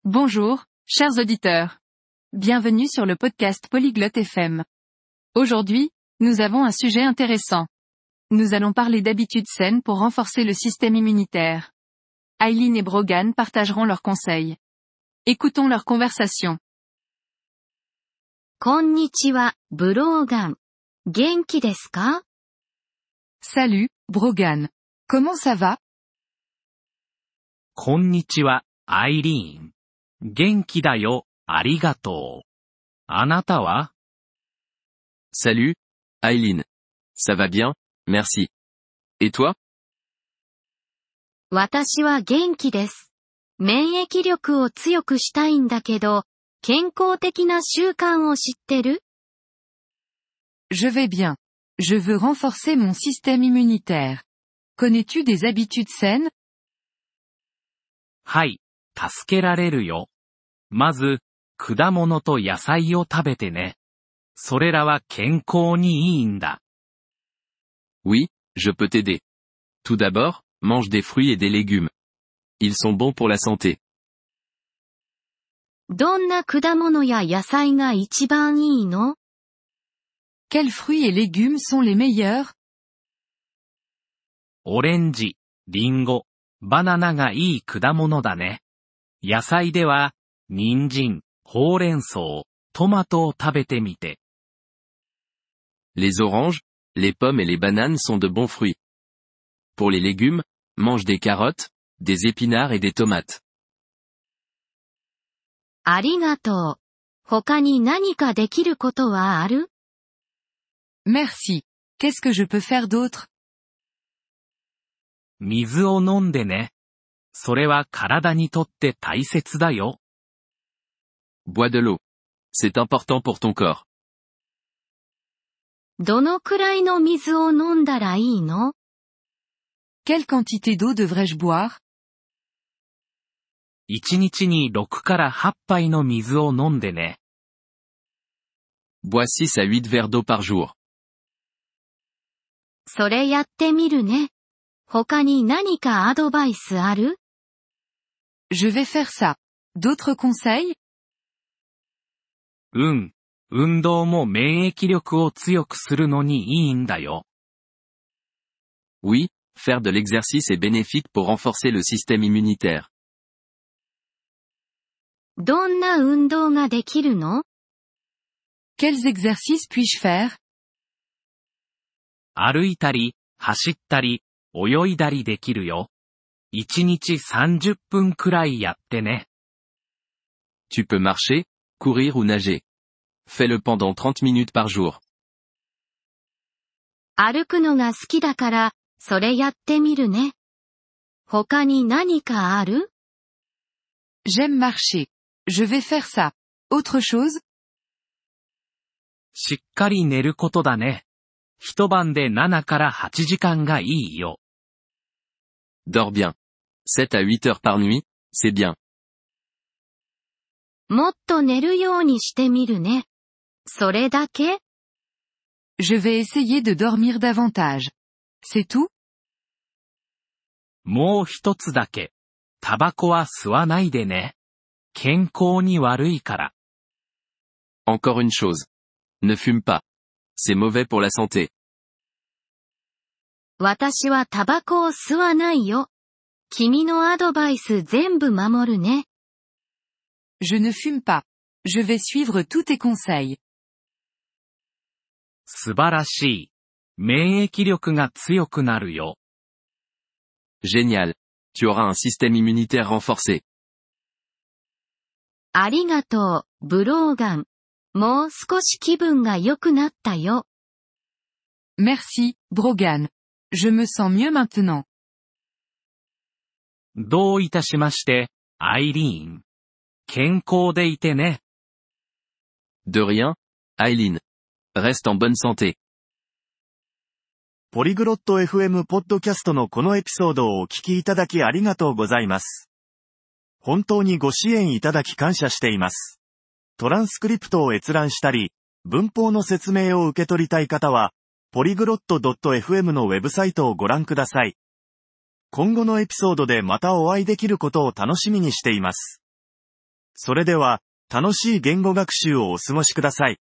Bonjour, chers auditeurs. Bienvenue sur le podcast Polyglotte FM. Aujourd'hui, nous avons un sujet intéressant. Nous allons parler d'habitudes saines pour renforcer le système immunitaire. Aileen et Brogan partageront leurs conseils. Écoutons leur conversation. こんにちは、ブローガン。元気ですか？ Salut, Brogan. Comment ça va? こんにちは、アイリーン。元気だよ、ありがとう。あなたは？ Salut, Aileen. Ça va bien, merci. Et toi? 私は元気です。免疫力を強くしたいんだけど、健康的な習慣を知ってる？ Je vais bien. Je veux renforcer mon système immunitaire. Connais-tu des habitudes saines? はい、助けられるよ。まず、果物と野菜を食べてね。それらは健康にいいんだ。 Oui, je peux t'aider. Tout d'abord, mange des fruits et des légumes. Ils sont bons pour la santé. どんな果物や野菜が一番いいの？ Quels fruits et légumes sont les meilleurs? オレンジ、リンゴ、バナナがいい果物だね。野菜では、人参、ほうれん草、トマトを食べてみて。 Les oranges, les pommes et les bananes sont de bons fruits. Pour les légumes, mange des carottes, des épinards et des tomates. ありがとう。他に何かできることはある？ Merci. Qu'est-ce que je peux faire d'autre? 水を飲んでね。それは体にとって大切だよ。 Bois de l'eau. C'est important pour ton corps. どのくらいの水を飲んだらいいの？ Quelle quantité d'eau devrais-je boire? 1日に6から8杯の水を飲んでね。 Bois 6 à 8 verres d'eau par jour. それやってみるね。他に何かアドバイスある？ Je vais faire ça. D'autres conseils? 運動も免疫力を強くするのにいいんだよ。 Oui, faire de l'exercice est bénéfique pour renforcer le système immunitaire. どんな運動ができるの？ Quels exercices puis-je faire? 歩いたり、走ったり、泳いだりできるよ。1日30分くらいやってね。 Tu peux marcher, courir ou nager. Fais-le pendant 30 minutes par jour. 歩くのが好きだから、それやってみるね。他に何かある？ J'aime marcher. Je vais faire ça. Autre chose? しっかり寝ることだね。一晩で7から8時間がいいよ。 Dors bien. 7 à 8 heures par nuit, c'est bien. もっと寝るようにしてみるね。それだけ？ Je vais essayer de dormir davantage. C'est tout? もう一つだけ。タバコは吸わないでね。健康に悪いから。 Encore une chose. Ne fume pas. C'est mauvais pour la santé. 私はタバコを吸わないよ。君のアドバイス全部守るね。 Je ne fume pas. Je vais suivre tous tes conseils. 素晴らしい。免疫力が強くなるよ。 Génial. Tu auras un système immunitaire renforcé. ありがとう、ブローガン。もう少し気分が良くなったよ。 Merci, Brogan. Je me sens mieux maintenant. どういたしまして、アイリーン。健康でいてね。 De rien, Aileen. Reste en bonne santé. ポリグロット FM ポッドキャストのこのエピソードをお聞きいただきありがとうございます。本当にご支援いただき感謝しています。トランスクリプトを閲覧したり、文法の説明を受け取りたい方は、ポリグロット .fm のウェブサイトをご覧ください。今後のエピソードでまたお会いできることを楽しみにしています。 それでは、楽しい言語学習をお過ごしください。